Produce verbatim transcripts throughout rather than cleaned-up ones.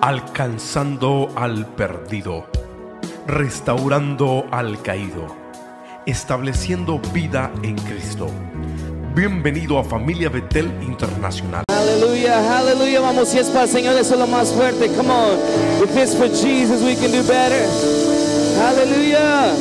alcanzando al perdido, restaurando al caído, estableciendo vida en Cristo. Bienvenido a Familia Betel Internacional. Aleluya, aleluya. Vamos, si es para el Señor, eso es lo más fuerte. Come on. If it's for Jesus, we can do better. Aleluya.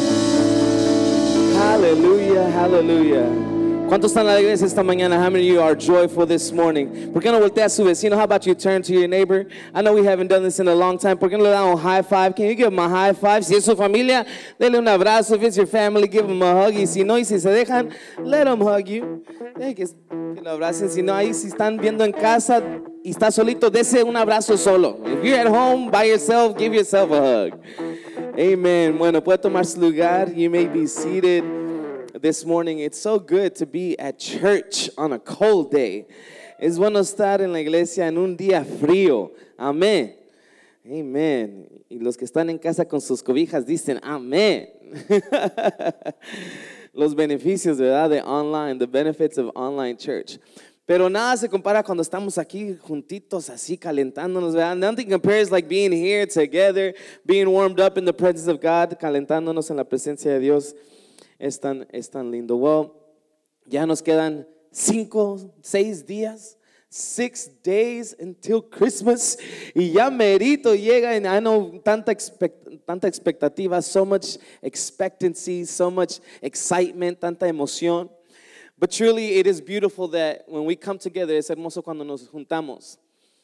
Aleluya, aleluya. ¿Cuántos están en la iglesia esta mañana? How many of you are joyful this morning? ¿Por qué no voltea a su vecino? How about you turn to your neighbor? I know we haven't done this in a long time. ¿Por qué no le dan un high five? Can you give them a high five? Si es su familia, denle un abrazo. If it's your family, give them a hug. Y si no, y si se dejan, let them hug you. Deje que, que lo abracen. Si no, ahí si están viendo en casa y está solito, dese un abrazo solo. If you're at home by yourself, give yourself a hug. Amen. Bueno, puede tomar su lugar. You may be seated. This morning, it's so good to be at church on a cold day. Es bueno estar en la iglesia en un día frío. Amén. Amen. Y los que están en casa con sus cobijas dicen amén. Los beneficios, ¿verdad? De online, the benefits of online church. Pero nada se compara cuando estamos aquí juntitos así calentándonos, ¿verdad? Nothing compares like being here together, being warmed up in the presence of God, calentándonos en la presencia de Dios. Es tan, es tan lindo. Well, ya nos quedan cinco, seis días, six days until Christmas. Y ya merito llega, and I know tanta, expect, tanta expectativa, so much expectancy, so much excitement, tanta emoción. But truly it is beautiful that when we come together, es hermoso cuando nos juntamos.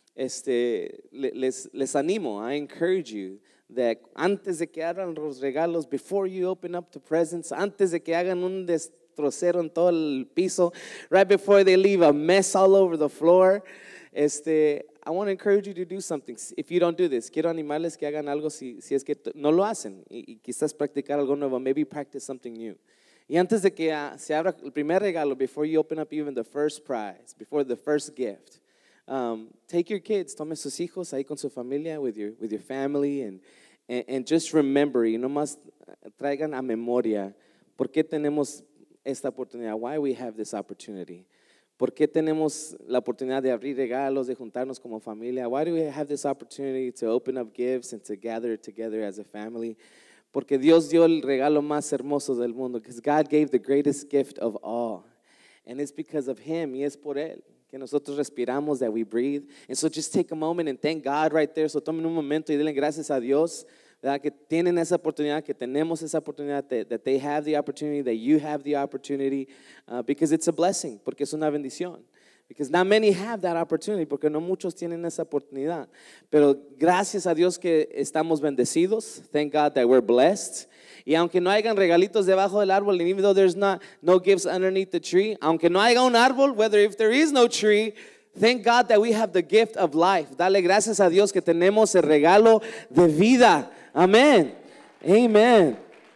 Este, les, les animo, I encourage you. De antes de que abran los regalos, before you open up the presents, antes de que hagan un destrocero en todo el piso, right before they leave a mess all over the floor, este, I want to encourage you to do something. If you don't do this, quiero animarles que hagan algo si, si es que no lo hacen y, y quizás practicar algo nuevo, maybe practice something new. Y antes de que uh, se abra el primer regalo, before you open up even the first prize, before the first gift, um, take your kids, tome sus hijos ahí con su familia, with your, with your family, and And, and just remember, y nomás traigan a memoria, ¿por qué tenemos esta oportunidad? Why we have this opportunity? ¿Por qué tenemos la oportunidad de abrir regalos, de juntarnos como familia? Why do we have this opportunity to open up gifts and to gather together as a family? Porque Dios dio el regalo más hermoso del mundo, because God gave the greatest gift of all. And it's because of Him, y es por Él que nosotros respiramos, that we breathe. And so just take a moment and thank God right there. So tomen un momento y denle gracias a Dios, ¿verdad? Que tienen esa oportunidad, que tenemos esa oportunidad, that, that they have the opportunity, that you have the opportunity, uh, because it's a blessing, porque es una bendición. Because not many have that opportunity, porque no muchos tienen esa oportunidad. Pero gracias a Dios que estamos bendecidos. Thank God that we're blessed. Y aunque no hayan regalitos debajo del árbol, and even though there's not no gifts underneath the tree, aunque no haya un árbol, whether if there is no tree, thank God that we have the gift of life. Dale gracias a Dios que tenemos el regalo de vida. Amen. Amen.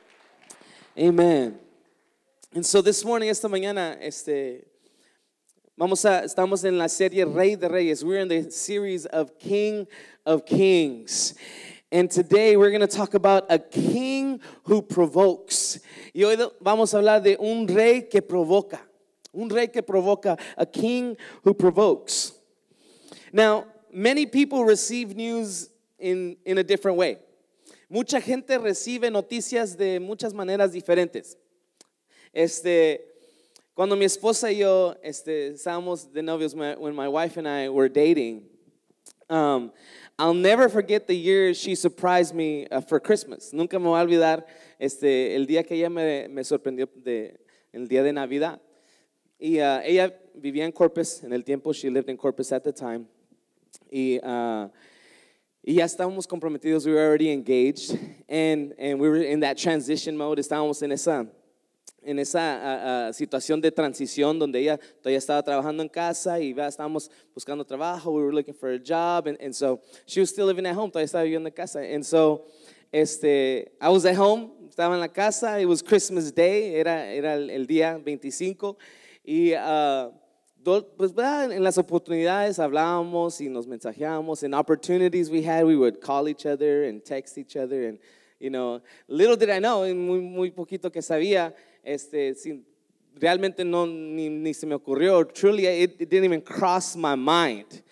Amen. And so this morning, esta mañana, este, vamos a, estamos en la serie Rey de Reyes. We're in the series of King of Kings. And today we're going to talk about a king who provokes. Y hoy vamos a hablar de un rey que provoca. Un rey que provoca. A king who provokes. Now, many people receive news in, in a different way. Mucha gente recibe noticias de muchas maneras diferentes. Este, cuando mi esposa y yo este, estábamos de novios, when my wife and I were dating, um, I'll never forget the year she surprised me uh, for Christmas. Nunca me voy a olvidar este, el día que ella me, me sorprendió, de, el día de Navidad. Y uh, ella vivía en Corpus en el tiempo, she lived in Corpus at the time. Y, uh, y ya estábamos comprometidos, we were already engaged. And, and we were in that transition mode, estábamos en esa, en esa uh, uh, situación de transición donde ella todavía estaba trabajando en casa y ya estábamos buscando trabajo, we were looking for a job, and, and so she was still living at home, todavía estaba viviendo en casa. And so este, I was at home, estaba en la casa, it was Christmas Day, era, era el, el día veinticinco, y uh, do, pues en las oportunidades hablábamos y nos mensajeábamos, and opportunities we had, we would call each other and text each other, and you know, little did I know, muy, muy poquito que sabía, este, sin, realmente no, ni, ni se me ocurrió, truly it, it didn't even cross my mind.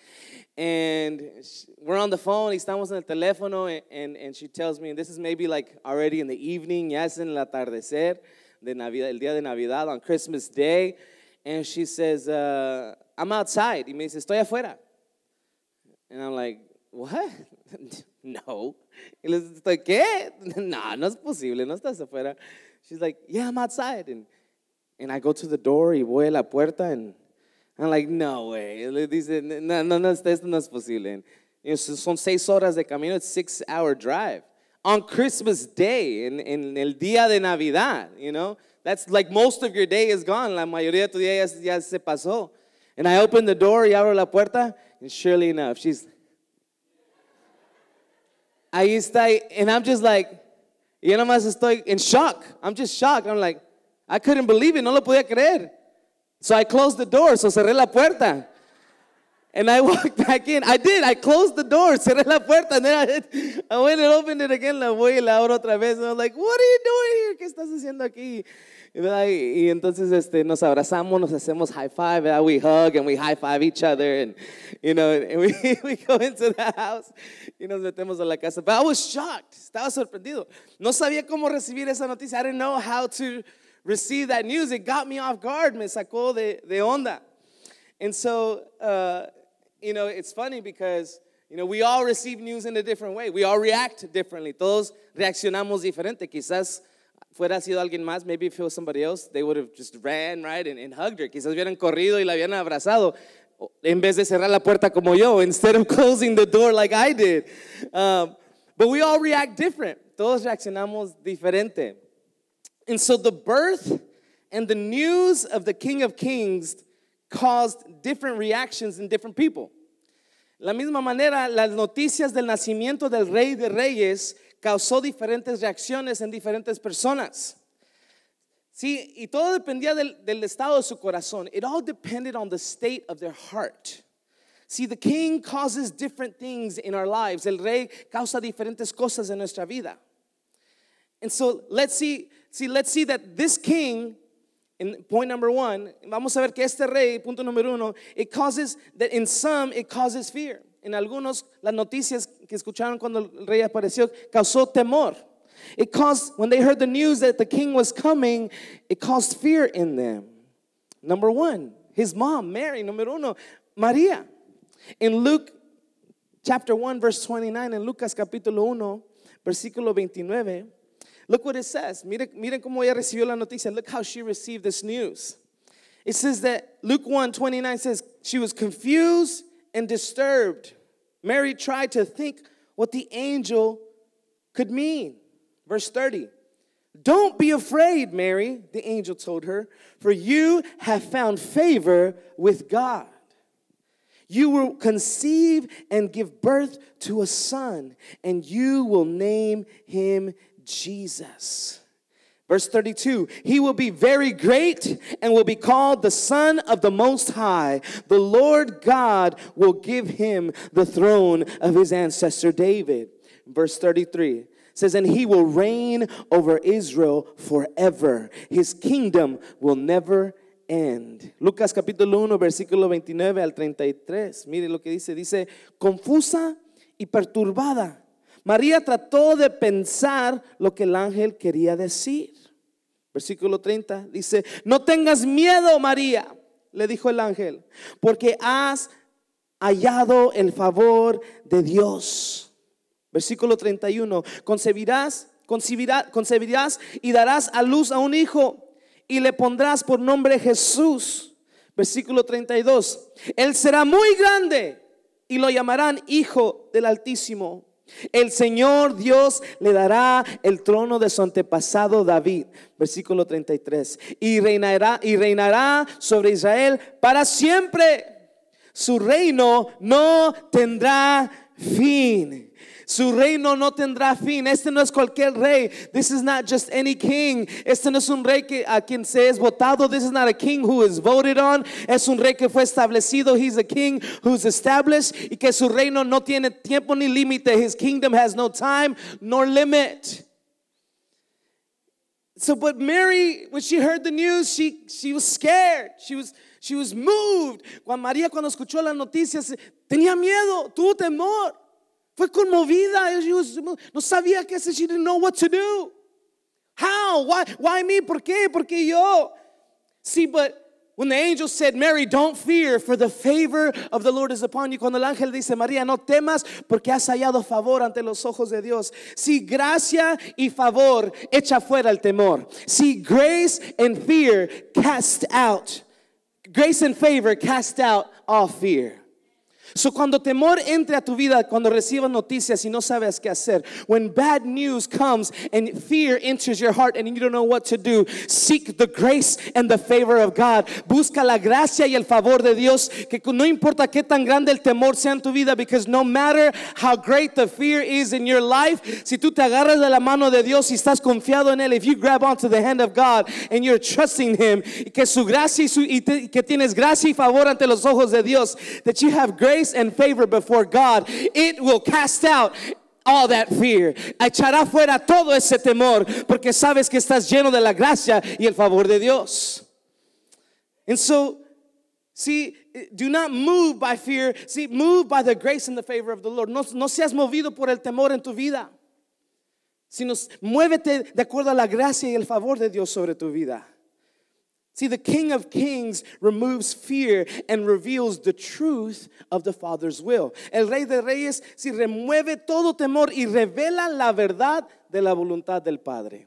And sh- we're on the phone, y estamos en el teléfono, and, and, and she tells me, and this is maybe like already in the evening, ya es en el atardecer, de Navidad, el día de Navidad, on Christmas Day, and she says, uh, I'm outside. Y me dice, estoy afuera. And I'm like, what? No. Y le estoy, ¿qué? No, no es posible, no estás afuera. She's like, yeah, I'm outside. And, and I go to the door y voy a la puerta, and I'm like, no way. Le dice, no, no, no, esto no es posible. And, you know, son seis horas de camino, it's six hour drive. On Christmas Day, en, en el día de Navidad, you know. That's like most of your day is gone. La mayoría de tu día ya, ya se pasó. And I open the door y abro la puerta, and surely enough, she's, ahí está, and I'm just like, yo nomás estoy in shock. I'm just shocked. I'm like, I couldn't believe it, no lo podía creer. So I closed the door, so cerré la puerta. And I walked back in. I did, I closed the door, cerré la puerta, and then I, I went and opened it again, la voy y la abro otra vez. And I was like, what are you doing here? ¿Qué estás haciendo aquí? Y, y entonces este, nos abrazamos, nos hacemos high five, ¿verdad? We hug and we high five each other, and you know, and we, we go into the house y nos metemos a la casa. But I was shocked, estaba sorprendido. No sabía cómo recibir esa noticia. I didn't know how to receive that news. It got me off guard, me sacó de, de onda. And so, uh, you know, it's funny because, you know, we all receive news in a different way. We all react differently. Todos reaccionamos diferente. Quizás fuera sido alguien más, maybe if it was somebody else, they would have just ran, right, and, and hugged her. Quizás hubieran corrido y la habían abrazado en vez de cerrar la puerta como yo, instead of closing the door like I did. Um, but we all react different. Todos reaccionamos diferente. And so the birth and the news of the King of Kings caused different reactions in different people. La misma manera, las noticias del nacimiento del Rey de Reyes causó diferentes reacciones en diferentes personas. Sí, y todo dependía del, del estado de su corazón. It all depended on the state of their heart. See, the king causes different things in our lives. El rey causa diferentes cosas en nuestra vida. And so let's see, see, let's see that this king, in point number one, vamos a ver que este rey, punto número uno, it causes, that in some, it causes fear. En algunos, las noticias que escucharon cuando el rey apareció, causó temor. It caused, when they heard the news that the king was coming, it caused fear in them. Number one, his mom, Mary, número uno, María. In Luke chapter one, verse twenty-nine, en Lucas capítulo uno, versículo veintinueve, look what it says. Miren, miren cómo ella recibió la noticia. Look how she received this news. It says that Luke one twenty-nine says, she was confused and disturbed. Mary tried to think what the angel could mean. Verse thirty, don't be afraid, Mary, the angel told her, for you have found favor with God. You will conceive and give birth to a son, and you will name him Jesus. Verse thirty-two, he will be very great and will be called the Son of the Most High. The Lord God will give him the throne of his ancestor David. Verse thirty-three says, and he will reign over Israel forever. His kingdom will never end. Lucas capítulo uno, versículo veintinueve al treinta y tres. Mire lo que dice. Dice, confusa y perturbada, María trató de pensar lo que el ángel quería decir. Versículo treinta dice, no tengas miedo, María, le dijo el ángel, porque has hallado el favor de Dios. Versículo treinta y uno, concebirás, concebirás, concebirás y darás a luz a un hijo y le pondrás por nombre Jesús. Versículo treinta y dos, él será muy grande y lo llamarán Hijo del Altísimo. El Señor Dios le dará el trono de su antepasado David. Versículo treinta y tres, y reinará, y reinará sobre Israel para siempre. Su reino no tendrá fin. Su reino no tendrá fin. Este no es cualquier rey. This is not just any king. Este no es un rey que, a quien se es votado. This is not a king who is voted on. Es un rey que fue establecido. He's a king who's established. Y que su reino no tiene tiempo ni límite. His kingdom has no time nor limit. So, but Mary, when she heard the news, she, she was scared. She was, she was moved. Juan María, cuando escuchó las noticias, Tenía miedo, tuvo temor. Fue conmovida. No sabía qué hacer. She didn't know what to do. How? Why? Why me? ¿Por qué? Porque yo. See, but when the angel said, Mary, don't fear, for the favor of the Lord is upon you. Cuando el ángel dice, María, no temas, porque has hallado favor ante los ojos de Dios. Si gracia y favor echa fuera el temor. Si grace and fear cast out. Grace and favor cast out all fear. So cuando temor entre a tu vida, cuando recibas noticias y no sabes qué hacer, when bad news comes and fear enters your heart and you don't know what to do, seek the grace and the favor of God. Busca la gracia y el favor de Dios, que no importa qué tan grande el temor sea en tu vida, because no matter how great the fear is in your life, si tú te agarras de la mano de Dios y estás confiado en Él, if you grab onto the hand of God and you're trusting Him, que su gracia y, su, y te, que tienes gracia y favor ante los ojos de Dios, that you have grace and favor before God, it will cast out all that fear. Echará fuera todo ese temor, porque sabes que estás lleno de la gracia y el favor de Dios. And so, see, do not move by fear. See, move by the grace and the favor of the Lord. No, no seas movido por el temor en tu vida, sino muévete de acuerdo a la gracia y el favor de Dios sobre tu vida. See, the King of Kings removes fear and reveals the truth of the Father's will. El Rey de Reyes, si remueve todo temor y revela la verdad de la voluntad del Padre.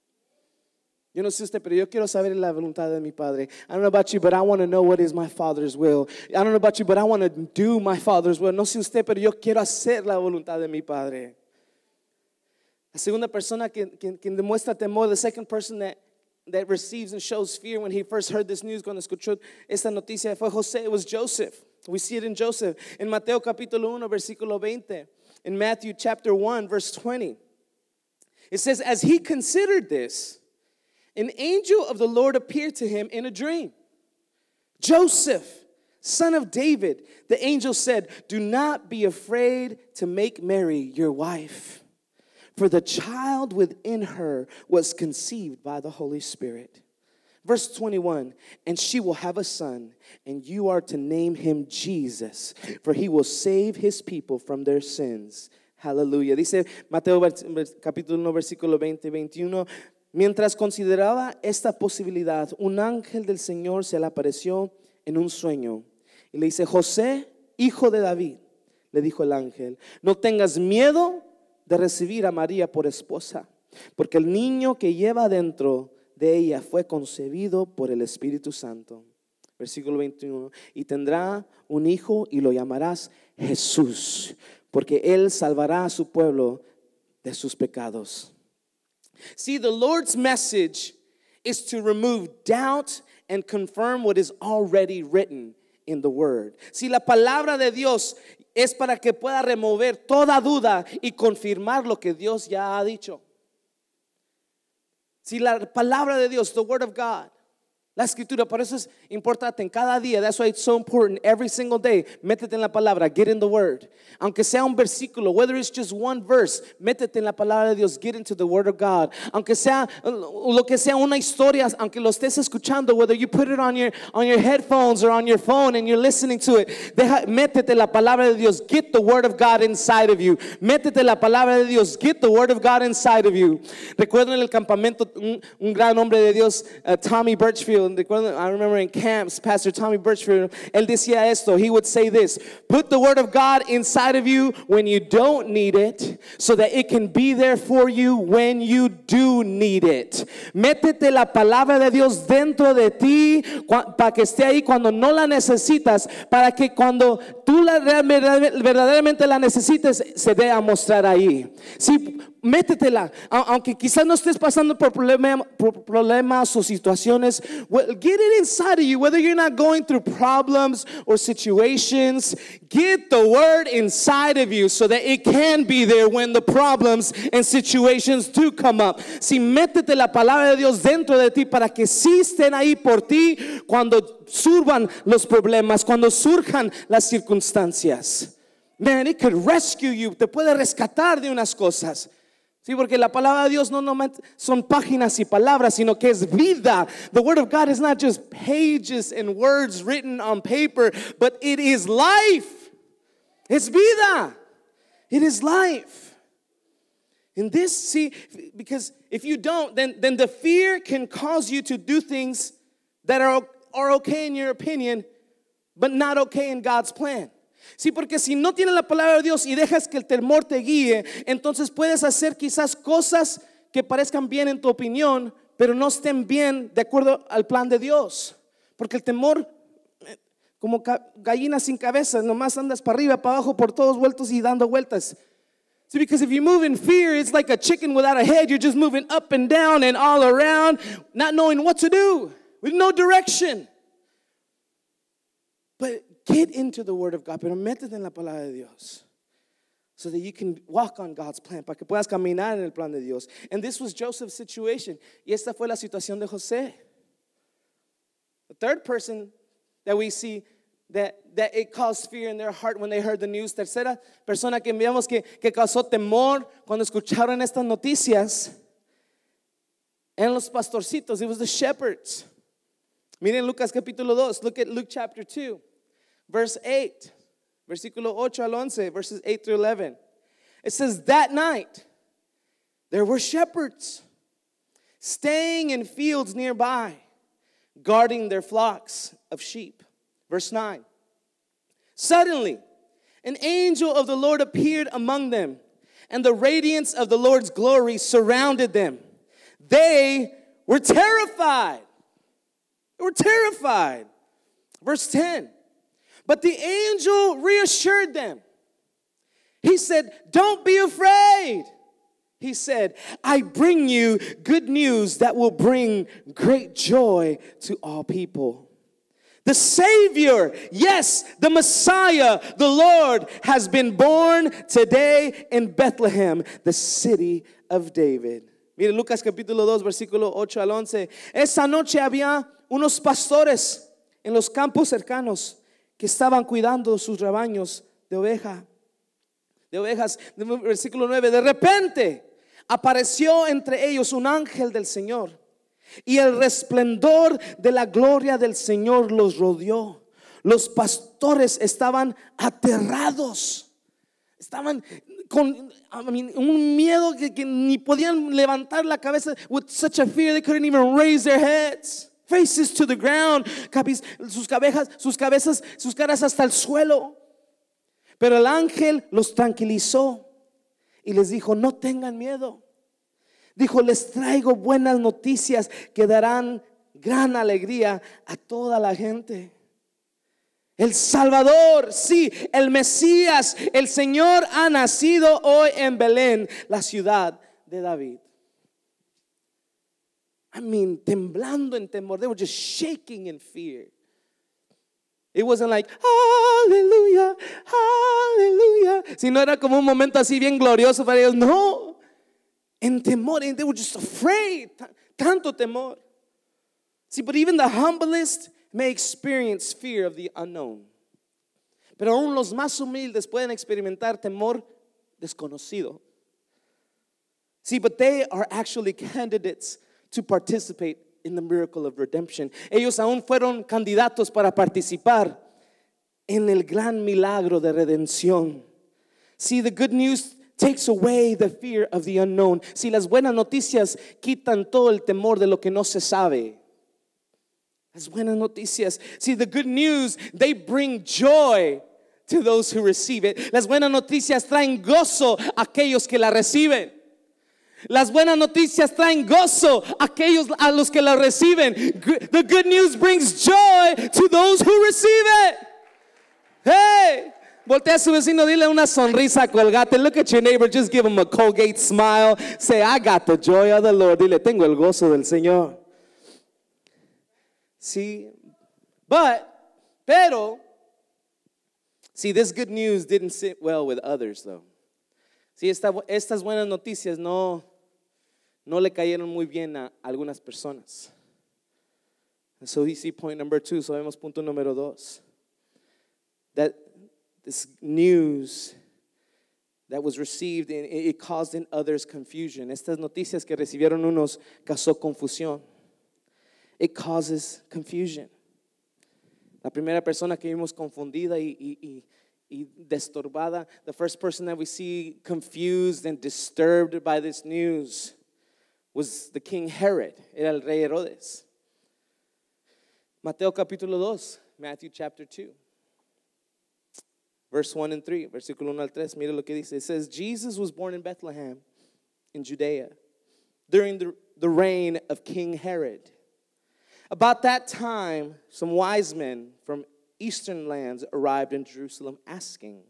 Yo no sé usted, pero yo quiero saber la voluntad de mi Padre. I don't know about you, but I want to know what is my Father's will. I don't know about you, but I want to do my Father's will. No sé usted, pero yo quiero hacer la voluntad de mi Padre. La segunda persona que, que, que demuestra temor, the second person that that receives and shows fear when he first heard this news, cuando escuchó esta noticia, fue José. It was Joseph. We see it in Joseph. In Mateo capítulo uno, versículo veinte. In Matthew chapter one, verse twenty. It says, as he considered this, an angel of the Lord appeared to him in a dream. Joseph, son of David, the angel said, do not be afraid to make Mary your wife, for the child within her was conceived by the Holy Spirit. Verse twenty-one, and she will have a son, and you are to name him Jesus, for he will save his people from their sins. Hallelujah. Dice Mateo capítulo uno, versículo veinte, veintiuno. Mientras consideraba esta posibilidad, un ángel del Señor se le apareció en un sueño y le dice, José, hijo de David, le dijo el ángel, no tengas miedo de recibir a María por esposa, porque el niño que lleva dentro de ella fue concebido por el Espíritu Santo. Versículo veintiuno, y tendrá un hijo y lo llamarás Jesús, porque él salvará a su pueblo de sus pecados. See, the Lord's message is to remove doubt and confirm what is already written in the Word. Si la palabra de Dios es para que pueda remover toda duda y confirmar lo que Dios ya ha dicho. Si la palabra de Dios, the Word of God, la escritura, por eso es importante en cada día. That's why it's so important every single day. Métete en la palabra, get in the Word. Aunque sea un versículo, whether it's just one verse, métete en la palabra de Dios, get into the Word of God. Aunque sea lo que sea una historia, aunque lo estés escuchando, whether you put it on your on your headphones or on your phone and you're listening to it, deja, métete la palabra de Dios, get the Word of God inside of you. Métete la palabra de Dios, get the Word of God inside of you. Recuerdo en el campamento un, un gran hombre de Dios, uh, Tommy Birchfield. I remember in camps, Pastor Tommy Birchfield, él decía esto. He would say this: put the Word of God inside of you when you don't need it, so that it can be there for you when you do need it. Métete la palabra de Dios dentro de ti para que esté ahí cuando no la necesitas, para que cuando tú la verdaderamente la necesites se dé a mostrar ahí. Sí, métetela, aunque quizás no estés pasando por, problema, por problemas o situaciones. Get it inside of you, whether you're not going through problems or situations. Get the Word inside of you so that it can be there when the problems and situations do come up. Si métete la palabra de Dios dentro de ti para que sí estén ahí por ti cuando surjan los problemas, cuando surjan las circunstancias. Man, it could rescue you. Te puede rescatar de unas cosas. Sí, porque la palabra de Dios no nomás son páginas y palabras, sino que es vida. The Word of God is not just pages and words written on paper, but it is life. Es vida. It is life. And this, see, because if you don't, then, then the fear can cause you to do things that are, are okay in your opinion, but not okay in God's plan. Sí, porque si no tienes la palabra de Dios y dejas que el temor te guíe, entonces puedes hacer quizás cosas que parezcan bien en tu opinión, pero no estén bien de acuerdo al plan de Dios. Porque el temor, como gallina sin cabeza, nomás andas para arriba, para abajo, por todos vueltos y dando vueltas. See, because if you move in fear, it's like a chicken without a head. You're just moving up and down and all around, not knowing what to do, with no direction. But get into the Word of God, pero métete en la palabra de Dios, so that you can walk on God's plan, para que puedas caminar en el plan de Dios. And this was Joseph's situation. Y esta fue la situación de José. The third person that we see that, that it caused fear in their heart when they heard the news. Tercera persona que vemos que, que causó temor cuando escucharon estas noticias eran los pastorcitos. It was the shepherds. Miren Lucas capítulo dos. Look at Luke chapter two, verse eight. Versículo ocho al once, verses eight through eleven. It says, that night there were shepherds staying in fields nearby, guarding their flocks of sheep. Verse nine. Suddenly, an angel of the Lord appeared among them, and the radiance of the Lord's glory surrounded them. They were terrified. They were terrified. Verse ten. But the angel reassured them. He said, don't be afraid. He said, I bring you good news that will bring great joy to all people. The Savior, yes, the Messiah, the Lord, has been born today in Bethlehem, the city of David. Mire Lucas capítulo dos, versículo ocho al once. Esa noche había unos pastores en los campos cercanos que estaban cuidando sus rebaños de oveja, de ovejas. Versículo nueve. De repente apareció entre ellos un ángel del Señor, y el resplendor de la gloria del Señor los rodeó. Los pastores estaban aterrados. Estaban con I mean, un miedo que, que ni podían levantar la cabeza. With such a fear they couldn't even raise their heads. Faces to the ground. Sus cabezas, sus cabezas, sus caras hasta el suelo. Pero el ángel los tranquilizó y les dijo, no tengan miedo. Dijo, les traigo buenas noticias que darán gran alegría a toda la gente. El Salvador, sí, el Mesías, el Señor ha nacido hoy en Belén, la ciudad de David. I mean, temblando en temor. They were just shaking in fear. It wasn't like, aleluya, aleluya. Si no era como un momento así bien glorioso para ellos. No. En temor, and they were just afraid. Tanto temor. See, but even the humblest may experience fear of the unknown. Pero aún los más humildes pueden experimentar temor desconocido. See, but they are actually candidates to participate in the miracle of redemption. Ellos aún fueron candidatos para participar en el gran milagro de redención. See, the good news takes away the fear of the unknown. Si las buenas noticias quitan todo el temor de lo que no se sabe. Las buenas noticias. See, the good news, they bring joy to those who receive it. Las buenas noticias traen gozo a aquellos que la reciben. Las buenas noticias traen gozo a aquellos a los que la reciben. The good news brings joy to those who receive it. Hey, voltea a su vecino, dile una sonrisa colgate. Look at your neighbor, just give him a Colgate smile. Say, I got the joy of the Lord. Dile, tengo el gozo del Señor. See, but, pero, see, this good news didn't sit well with others, though. Sí, esta, estas buenas noticias no, no le cayeron muy bien a algunas personas. And so we see point number two. So vemos punto número dos. That this news that was received, it, it caused in others confusion. Estas noticias que recibieron unos causó confusión. It causes confusion. La primera persona que vimos confundida y, y, y, y destorbada. The first person that we see confused and disturbed by this news was the king Herod. Era el rey Herodes. Mateo capítulo dos, Matthew chapter two. Verse one and three, versículo uno al tres, mira lo que dice. It says, Jesus was born in Bethlehem in Judea during the, the reign of King Herod. About that time, some wise men from eastern lands arrived in Jerusalem asking,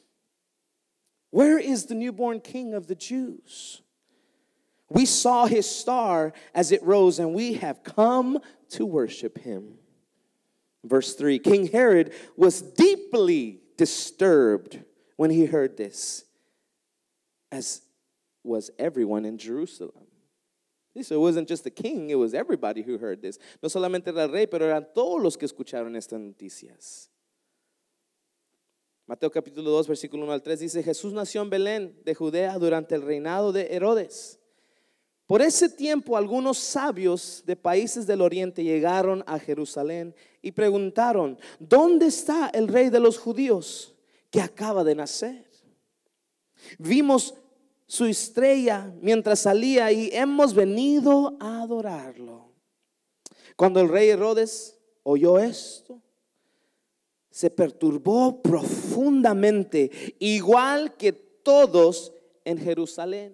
where is the newborn king of the Jews? We saw his star as it rose, and we have come to worship him. Verse three, King Herod was deeply disturbed when he heard this, as was everyone in Jerusalem. So it wasn't just the king, it was everybody who heard this. No solamente era el rey, pero eran todos los que escucharon estas noticias. Mateo capítulo dos, versículo uno al tres dice, Jesús nació en Belén de Judea durante el reinado de Herodes. Por ese tiempo algunos sabios de países del oriente llegaron a Jerusalén y preguntaron, ¿dónde está el rey de los judíos que acaba de nacer? Vimos su estrella mientras salía y hemos venido a adorarlo. Cuando el rey Herodes oyó esto, se perturbó profundamente, igual que todos en Jerusalén.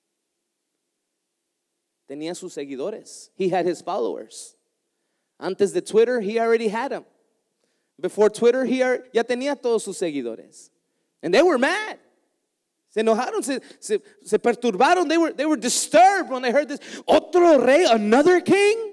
Tenía sus seguidores. He had his followers. Antes de Twitter, he already had them. Before Twitter, he are, ya tenía todos sus seguidores. And they were mad. Se enojaron, se, se, se perturbaron. They were, they were disturbed when they heard this. Otro rey, another king?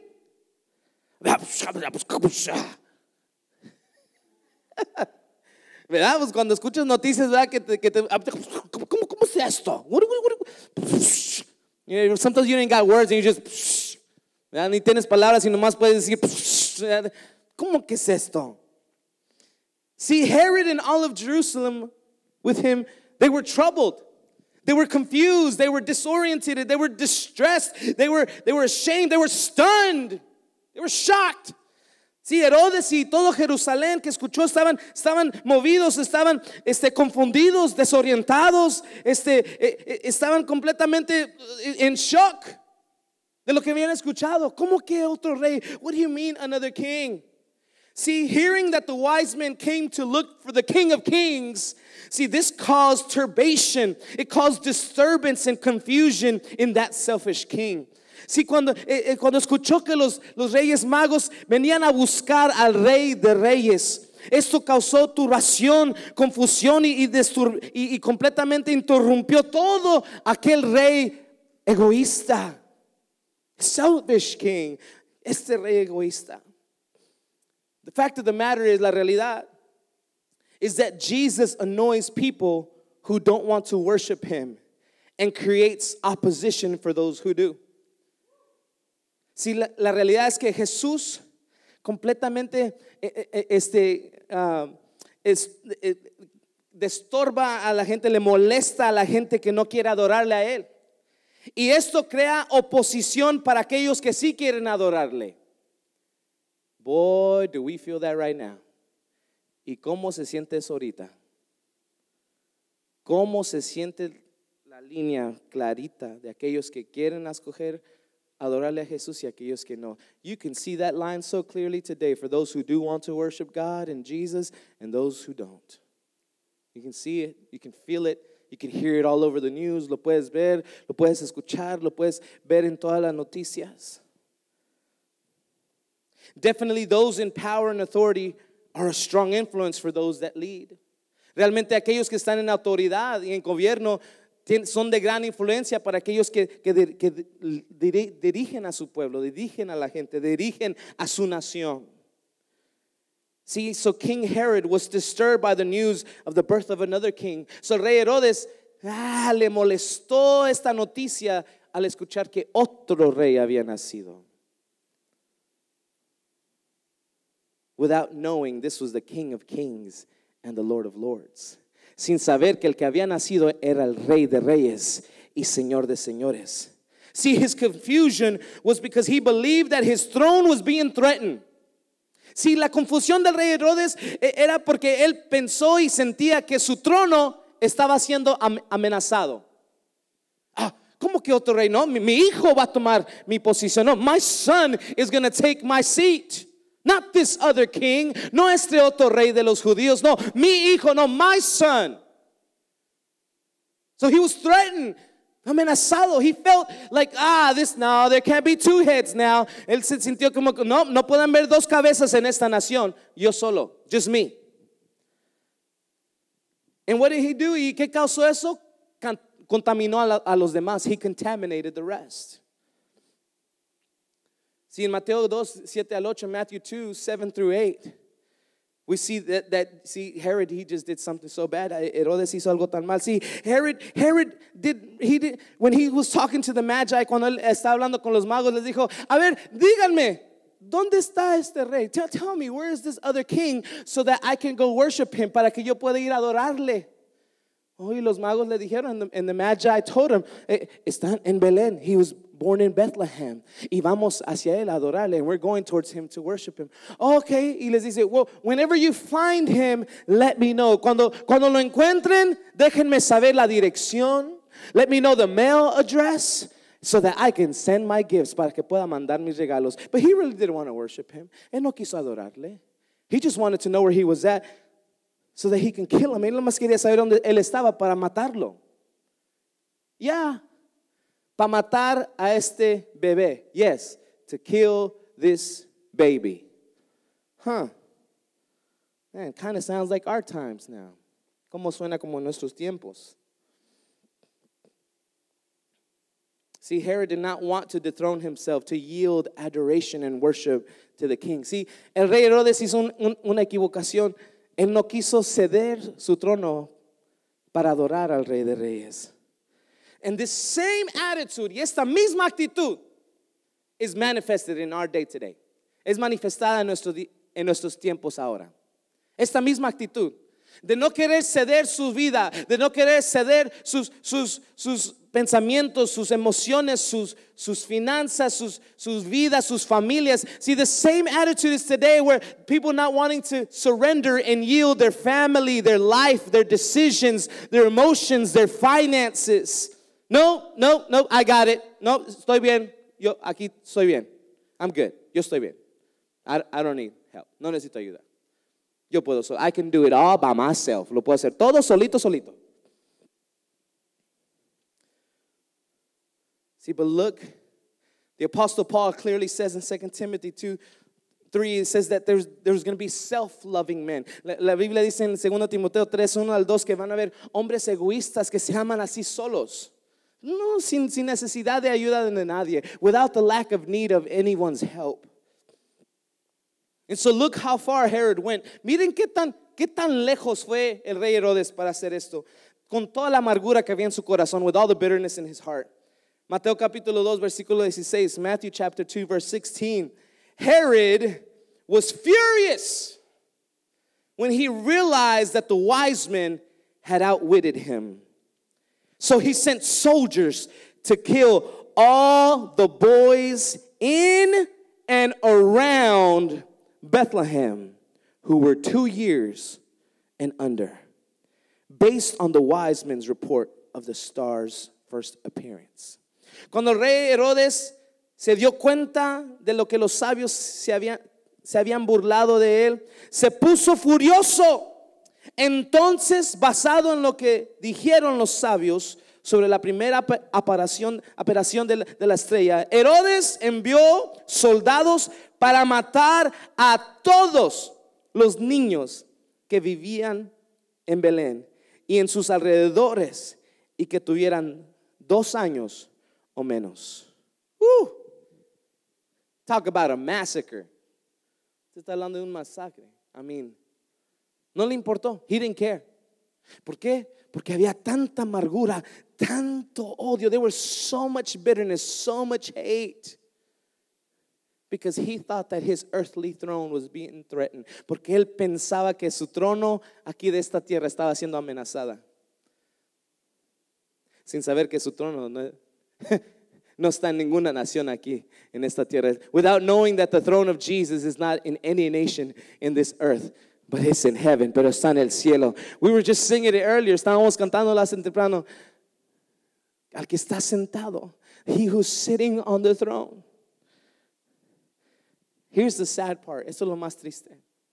¿Verdad? Pues cuando escuchas noticias, ¿verdad? Que te, que te, ¿cómo, cómo es esto? What, what, what? You know, sometimes you ain't got words and you just, ¿verdad? Ni tienes palabras y nomás puedes decir, ¿cómo que es esto? See, Herod and all of Jerusalem with him, they were troubled. They were confused. They were disoriented. They were distressed. They were, they were ashamed. They were stunned. They were shocked. Sí, Herodes y todo Jerusalén que escuchó estaban, estaban movidos, estaban este, confundidos, desorientados, este, eh, eh, estaban completamente en shock de lo que habían escuchado. ¿Cómo que otro rey? What do you mean another king? See, hearing that the wise men came to look for the King of Kings, see, this caused turbation. It caused disturbance and confusion in that selfish king. Sí, cuando, eh, cuando escuchó que los, los reyes magos venían a buscar al rey de reyes, esto causó turbación, confusión y, y, destur, y, y completamente interrumpió todo aquel rey egoísta. Selfish king, este rey egoísta. The fact of the matter is, la realidad is that Jesus annoys people who don't want to worship him and creates opposition for those who do. Sí, la, la realidad es que Jesús completamente eh, eh, este, uh, es, eh, destorba a la gente, le molesta a la gente que no quiere adorarle a Él. Y esto crea oposición para aquellos que sí quieren adorarle. Boy, do we feel that right now. ¿Y cómo se siente eso ahorita? ¿Cómo se siente la línea clarita de aquellos que quieren escoger adorarle a Jesús y aquellos que no? You can see that line so clearly today for those who do want to worship God and Jesus and those who don't. You can see it, you can feel it, you can hear it all over the news. Lo puedes ver, lo puedes escuchar, lo puedes ver en todas las noticias. Definitely those in power and authority are a strong influence for those that lead. Realmente aquellos que están en autoridad y en gobierno son de gran influencia para aquellos que, que, que dirigen a su pueblo, dirigen a la gente, dirigen a su nación. See, so King Herod was disturbed by the news of the birth of another king. So el rey Herodes ah, le molestó esta noticia al escuchar que otro rey había nacido. Without knowing this was the King of Kings and the Lord of Lords. Sin saber que el que había nacido era el Rey de Reyes y Señor de Señores. See, his confusion was because he believed that his throne was being threatened. Si la confusión del rey Herodes era porque él pensó y sentía que su trono estaba siendo amenazado. Ah, ¿cómo que otro rey? No, mi, mi hijo va a tomar mi posición. No, my son is going to take my seat. Not this other king. No este otro rey de los judíos. No, mi hijo, no, my son. So he was threatened. Amenazado. He felt like, ah, this, no, there can't be two heads now. Él se sintió como, no, no pueden ver dos cabezas en esta nación. Yo solo, just me. And what did he do? ¿Y qué causó eso? Contaminó a, la, a los demás. He contaminated the rest. See, in Mateo dos, siete al ocho, Matthew two, seven through eight, we see that, that, see, Herod, he just did something so bad. Herodes hizo algo tan mal. See, Herod, Herod did, he did, when he was talking to the Magi, cuando él estaba hablando con los magos, les dijo, a ver, díganme, ¿dónde está este rey? Tell, tell me, where is this other king so that I can go worship him, para que yo pueda ir a adorarle? Oh, y los magos le dijeron, and the, and the Magi told him, eh, están en Belén. He was born in Bethlehem. Y vamos hacia él a adorarle. And we're going towards him to worship him. Okay. Y les dice, well, whenever you find him, let me know. Cuando, cuando lo encuentren, déjenme saber la dirección. Let me know the mail address so that I can send my gifts, para que pueda mandar mis regalos. But he really didn't want to worship him. Él no quiso adorarle. He just wanted to know where he was at so that he can kill him. Él nomás quería saber dónde él estaba para matarlo. Ya. Yeah. Para matar a este bebé. Yes, to kill this baby. Huh. Man, kind of sounds like our times now. Como suena como nuestros tiempos. See, Herod did not want to dethrone himself, to yield adoration and worship to the king. See, el rey Herodes hizo un, un, una equivocación. Él no quiso ceder su trono para adorar al rey de reyes. And this same attitude, y esta misma actitud, is manifested in our day today. Es manifestada en, nuestro, en nuestros tiempos ahora. Esta misma actitud de no querer ceder su vida, de no querer ceder sus, sus, sus pensamientos, sus emociones, sus, sus finanzas, sus, sus vidas, sus familias. See, the same attitude is today, where people not wanting to surrender and yield their family, their life, their decisions, their emotions, their finances. No, no, no, I got it. No, estoy bien. Yo aquí estoy bien. I'm good. Yo estoy bien. I, I don't need help. No necesito ayuda. Yo puedo, so I can do it all by myself. Lo puedo hacer todo solito, solito. See, but look, the Apostle Paul clearly says in Second Timothy two, three, it says that there's, there's going to be self-loving men. La, la Biblia dice en Segundo Timoteo tres, uno al dos, que van a haber hombres egoístas que se aman así solos. No, sin, sin necesidad de ayuda de nadie, without the lack of need of anyone's help. And so look how far Herod went. Miren qué tan, qué tan lejos fue el rey Herodes para hacer esto, con toda la amargura que había en su corazón, with all the bitterness in his heart. Mateo capítulo dos, versículo dieciséis, Matthew chapter two, verse sixteen. Herod was furious when he realized that the wise men had outwitted him. So he sent soldiers to kill all the boys in and around Bethlehem who were two years and under, based on the wise men's report of the star's first appearance. Cuando el rey Herodes se dio cuenta de lo que los sabios se habían, se habían burlado de él, se puso furioso. Entonces, basado en lo que dijeron los sabios sobre la primera aparición, aparición de, la, de la estrella, Herodes envió soldados para matar a todos los niños que vivían en Belén y en sus alrededores y que tuvieran dos años o menos. Uh, talk about a massacre. Se está hablando de un masacre. I mean, no le importó. He didn't care. ¿Por qué? Porque había tanta amargura, tanto odio. There was so much bitterness, so much hate. Because he thought that his earthly throne was being threatened. Porque él pensaba que su trono aquí de esta tierra estaba siendo amenazada. Sin saber que su trono no, No está en ninguna nación aquí en esta tierra. Without knowing that the throne of Jesus is not in any nation in this earth, but it's in heaven, pero está en el cielo. We were just singing it earlier. Estábamos cantando hace temprano. Al que está sentado, he who's sitting on the throne. Here's the sad part. Esto es lo más triste.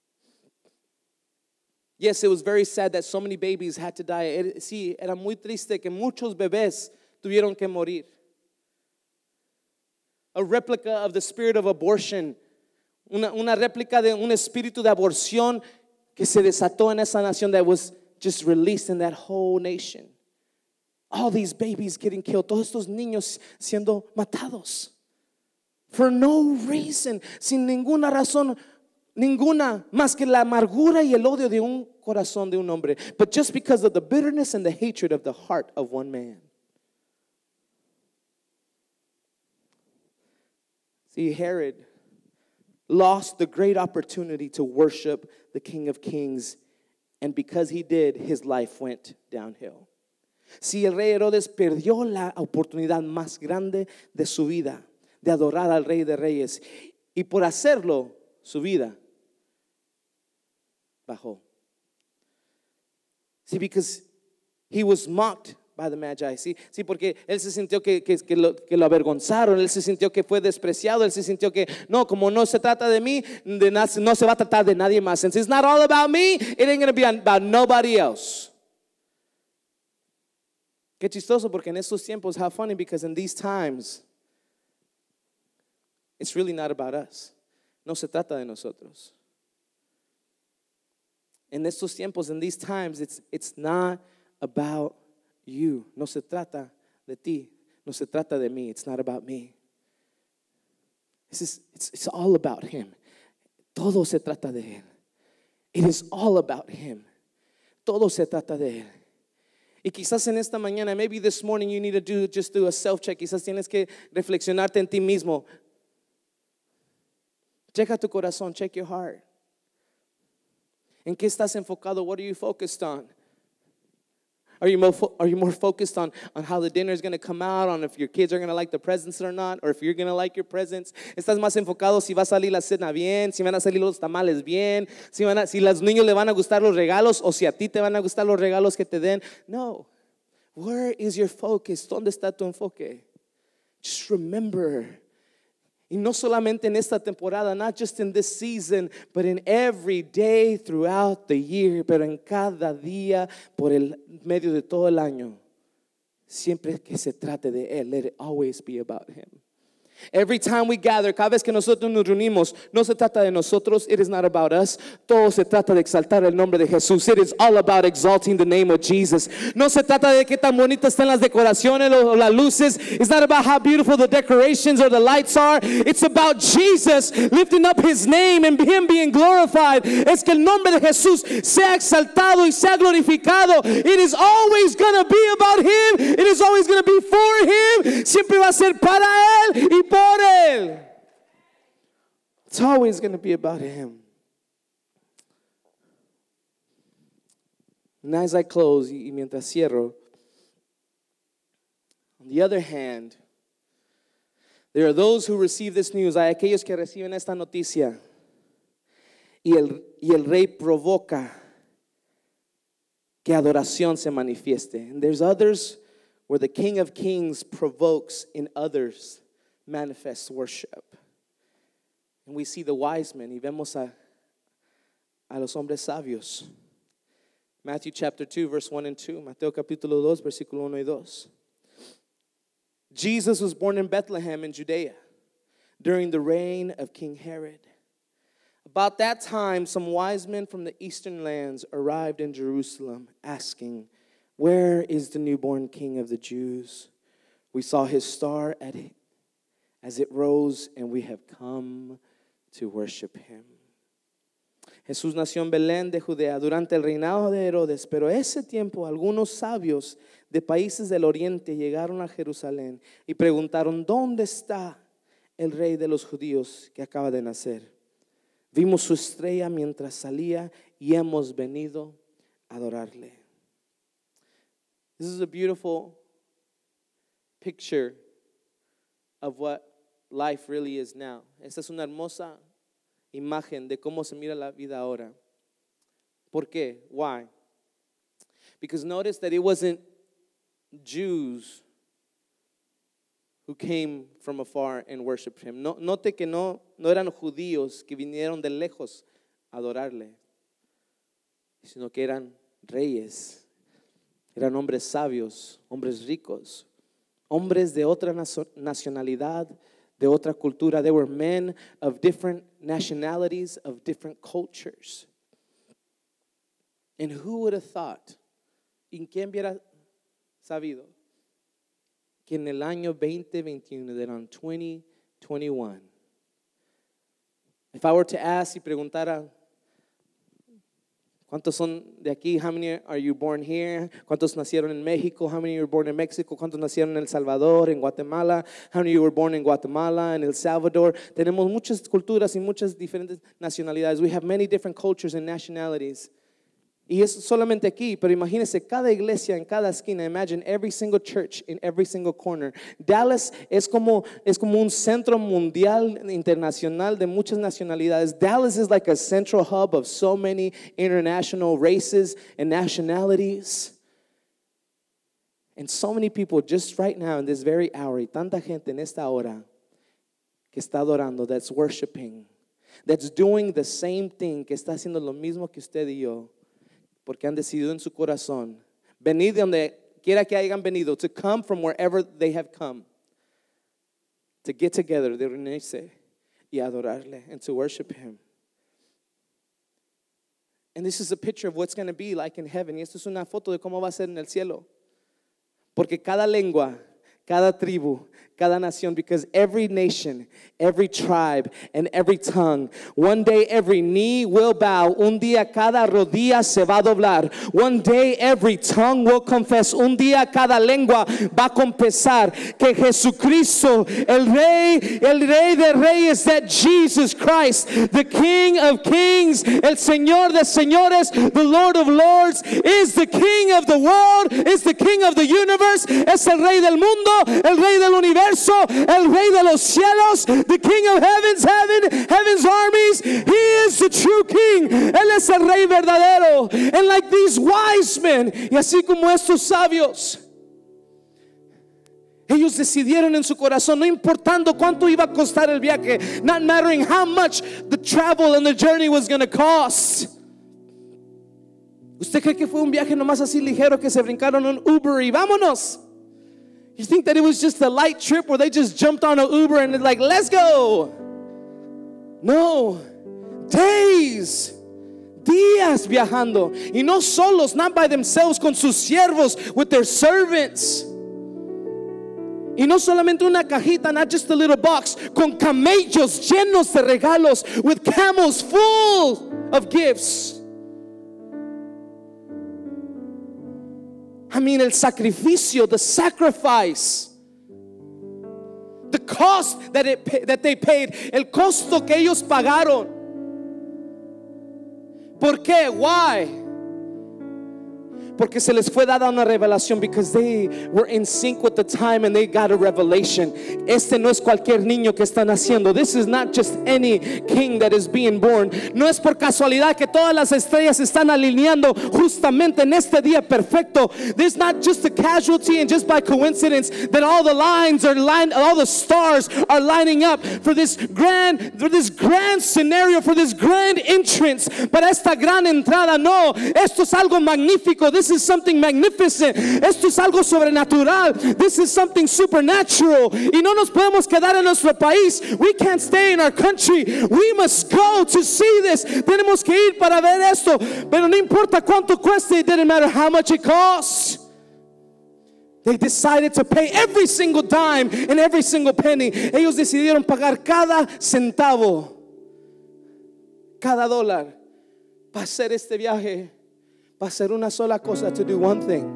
Yes, it was very sad that so many babies had to die. Sí, era muy triste que muchos bebés tuvieron que morir. A replica of the spirit of abortion. Una, una réplica de un espíritu de aborción que se desató en esa nación that was just released in that whole nation. All these babies getting killed. Todos estos niños siendo matados. For no reason. Sin ninguna razón. Ninguna más que la amargura y el odio de un corazón de un hombre. But just because of the bitterness and the hatred of the heart of one man. See, Herod lost the great opportunity to worship the King of Kings, and because he did, his life went downhill. Si el rey Herodes perdió la oportunidad más grande de su vida, de adorar al Rey de Reyes, y por hacerlo, su vida bajó. See, because he was mocked by the Magi. Sí, sí, porque él se sintió que, que, que, lo, que lo avergonzaron, él se sintió que fue despreciado, él se sintió que no, como no se trata de mí, de na, no se va a tratar de nadie más. Since it's not all about me, it ain't going to be about nobody else. Qué chistoso, porque en estos tiempos, how funny, because in these times, it's really not about us. No se trata de nosotros. En estos tiempos, in these times, it's, it's not about you. No se trata de ti. No se trata de mí. It's not about me. This is, it's, it's all about him. Todo se trata de él. It is all about him. Todo se trata de él. Y quizás en esta mañana, maybe this morning you need to do, just do a self-check. Quizás tienes que reflexionarte en ti mismo. Checa tu corazón, check your heart. ¿En qué estás enfocado? What are you focused on? Are you more, fo- are you more focused on, on how the dinner is going to come out, on if your kids are going to like the presents or not, or if you're going to like your presents? ¿Estás más enfocado si va a salir la cena bien, si van a salir los tamales bien, si, van a, si los niños le van a gustar los regalos, o si a ti te van a gustar los regalos que te den? No. Where is your focus? ¿Dónde está tu enfoque? Just remember. Y no solamente en esta temporada, not just in this season, but in every day throughout the year, pero en cada día por el medio de todo el año. Siempre que se trate de él, let it always be about him. Every time we gather, cada vez que nosotros nos reunimos, no se trata de nosotros. It is not about us. Todo se trata de exaltar el nombre de Jesús. It is all about exalting the name of Jesus. No se trata de qué tan bonitas están las decoraciones o las luces. It's not about how beautiful the decorations or the lights are. It's about Jesus lifting up his name and him being glorified. Es que el nombre de Jesús sea exaltado y sea glorificado. It is always going to be about him. It is always going to be for him. Siempre va a ser para él y por él. It's always going to be about him. And as I close, y mientras cierro, on the other hand, there are those who receive this news. Hay aquellos que reciben esta noticia y el, y el rey provoca que adoración se manifieste. And there's others where the King of Kings provokes in others manifest worship. And we see the wise men, y vemos a, a los hombres sabios. Matthew chapter two, verse one and two. Mateo capítulo dos, versículo uno y dos. Jesus was born in Bethlehem in Judea during the reign of King Herod. About that time, some wise men from the eastern lands arrived in Jerusalem, asking, "Where is the newborn King of the Jews? We saw his star at as it rose, and we have come to worship him." Jesús nació en Belén de Judea durante el reinado de Herodes, pero ese tiempo algunos sabios de países del oriente llegaron a Jerusalén y preguntaron: ¿dónde está el rey de los judíos que acaba de nacer? Vimos su estrella mientras salía y hemos venido a adorarle. This is a beautiful picture of what life really is now. Esta es una hermosa imagen de cómo se mira la vida ahora. ¿Por qué? Why? Because notice that it wasn't Jews who came from afar and worshiped him. No, note que no, no eran judíos que vinieron de lejos a adorarle, sino que eran reyes, eran hombres sabios, hombres ricos, hombres de otra nacionalidad, de otra cultura. They were men of different nationalities, of different cultures. And who would have thought, ¿y quién hubiera sabido que en el año veinte veintiuno, that on twenty twenty-one, if I were to ask y preguntara, ¿cuántos son de aquí? How many are you born here? ¿Cuántos nacieron en México? How many were born in Mexico? ¿Cuántos nacieron en El Salvador, en Guatemala? How many were born in Guatemala, en El Salvador? Tenemos muchas culturas y muchas diferentes nacionalidades. We have many different cultures and nationalities. Y es solamente aquí, pero imagínense cada iglesia en cada esquina. Imagine every single church in every single corner. Dallas es como, es como un centro mundial internacional de muchas nacionalidades. Dallas is like a central hub of so many international races and nationalities. And so many people just right now in this very hour, y tanta gente en esta hora que está adorando, that's worshiping, that's doing the same thing, que está haciendo lo mismo que usted y yo. Porque han decidido en su corazón venir de donde quiera que hayan venido, to come from wherever they have come, to get together, de reunirse y adorarle, and to worship him. And this is a picture of what's going to be like in heaven. Y esto es una foto de cómo va a ser en el cielo. Porque cada lengua, cada tribu, cada nación, because every nation, every tribe, and every tongue, one day every knee will bow, un día cada rodilla se va a doblar, one day every tongue will confess, un día cada lengua va a confesar que Jesucristo, el Rey, el Rey de Reyes, that Jesus Christ, the King of Kings, el Señor de Señores, the Lord of Lords, is the King of the world, is the King of the universe, es el Rey del mundo, el Rey del universo, el Rey de los cielos, the King of heavens, heaven, heaven's armies. He is the true King. Él es el Rey verdadero. And like these wise men, y así como estos sabios, ellos decidieron en su corazón, no importando cuánto iba a costar el viaje, not mattering how much the travel and the journey was going to cost. ¿Usted cree que fue un viaje nomás así ligero que se brincaron un Uber y vámonos? You think that it was just a light trip where they just jumped on an Uber and they're like, let's go? No. Days. Días viajando. Y no solos, not by themselves, con sus siervos, with their servants. Y no solamente una cajita, not just a little box, con camellos llenos de regalos, with camels full of gifts. I mean, el sacrificio, the sacrifice, the cost that it that they paid, el costo que ellos pagaron. ¿Por qué? Why? Porque se les fue dada una revelación, because they were in sync with the time and they got a revelation. Este no es cualquier niño que está naciendo. This is not just any king that is being born. No es por casualidad que todas las estrellas están alineando justamente en este día perfecto. This is not just a casualty and just by coincidence that all the lines are lined, all the stars are lining up for this grand, for this grand scenario, for this grand entrance, para esta gran entrada. No, esto es algo magnífico. This This is something magnificent. Esto es algo sobrenatural. This is something supernatural. Y no nos podemos quedar en nuestro país. We can't stay in our country. We must go to see this. Tenemos que ir para ver esto. Pero no importa cuánto cueste. It didn't matter how much it costs. They decided to pay every single dime and every single penny. Ellos decidieron pagar cada centavo, cada dólar para hacer este viaje. Va a ser una sola cosa, to do one thing: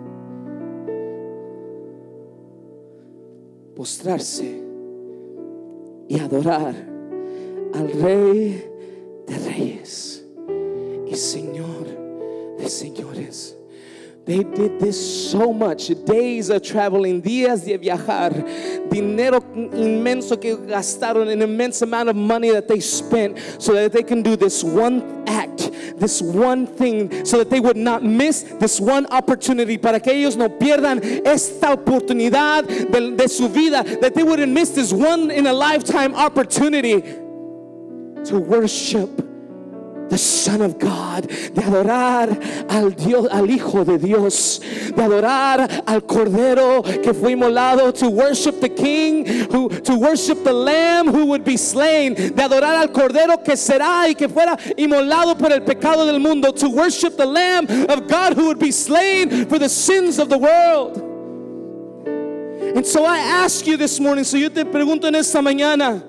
postrarse y adorar al Rey de Reyes y Señor de Señores, They did this so much. Days of traveling, días de viajar, dinero inmenso que gastaron, an immense amount of money that they spent so that they can do this one act, this one thing, so that they would not miss this one opportunity, para que ellos no pierdan esta oportunidad de, de su vida, that they wouldn't miss this one in a lifetime opportunity to worship the Son of God, de adorar al Dios, al Hijo de Dios, de adorar al Cordero que fue inmolado, to worship the King, who, to worship the Lamb who would be slain, de adorar al Cordero que será y que fuera inmolado por el pecado del mundo, to worship the Lamb of God who would be slain for the sins of the world. And so I ask you this morning, so yo te pregunto en esta mañana,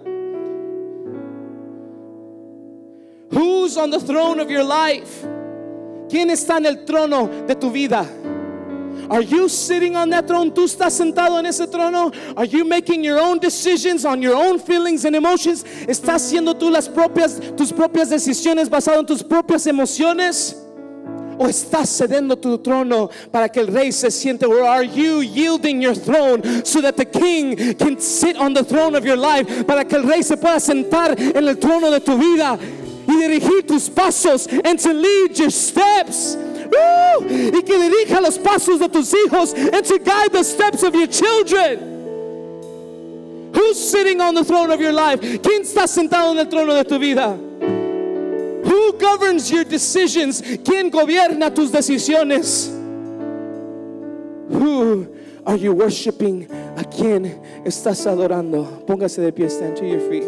who's on the throne of your life? ¿Quién está en el trono de tu vida? Are you sitting on that throne? ¿Tú estás sentado en ese trono? Are you making your own decisions on your own feelings and emotions? ¿Estás haciendo tú las propias, tus propias decisiones basado en tus propias emociones? ¿O estás cediendo tu trono para que el rey se siente? Or are you yielding your throne so that the king can sit on the throne of your life? Para que el rey se pueda sentar en el trono de tu vida y dirigir tus pasos, and to lead your steps. Woo! Y que dirija los pasos de tus hijos, and to guide the steps of your children. Who's sitting on the throne of your life? ¿Quién está sentado en el trono de tu vida? Who governs your decisions? ¿Quién gobierna tus decisiones? Who are you worshiping? ¿A quién estás adorando? Póngase de pie, stand to your feet.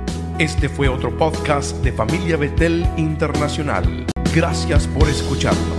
Este fue otro podcast de Familia Betel Internacional. Gracias por escucharnos.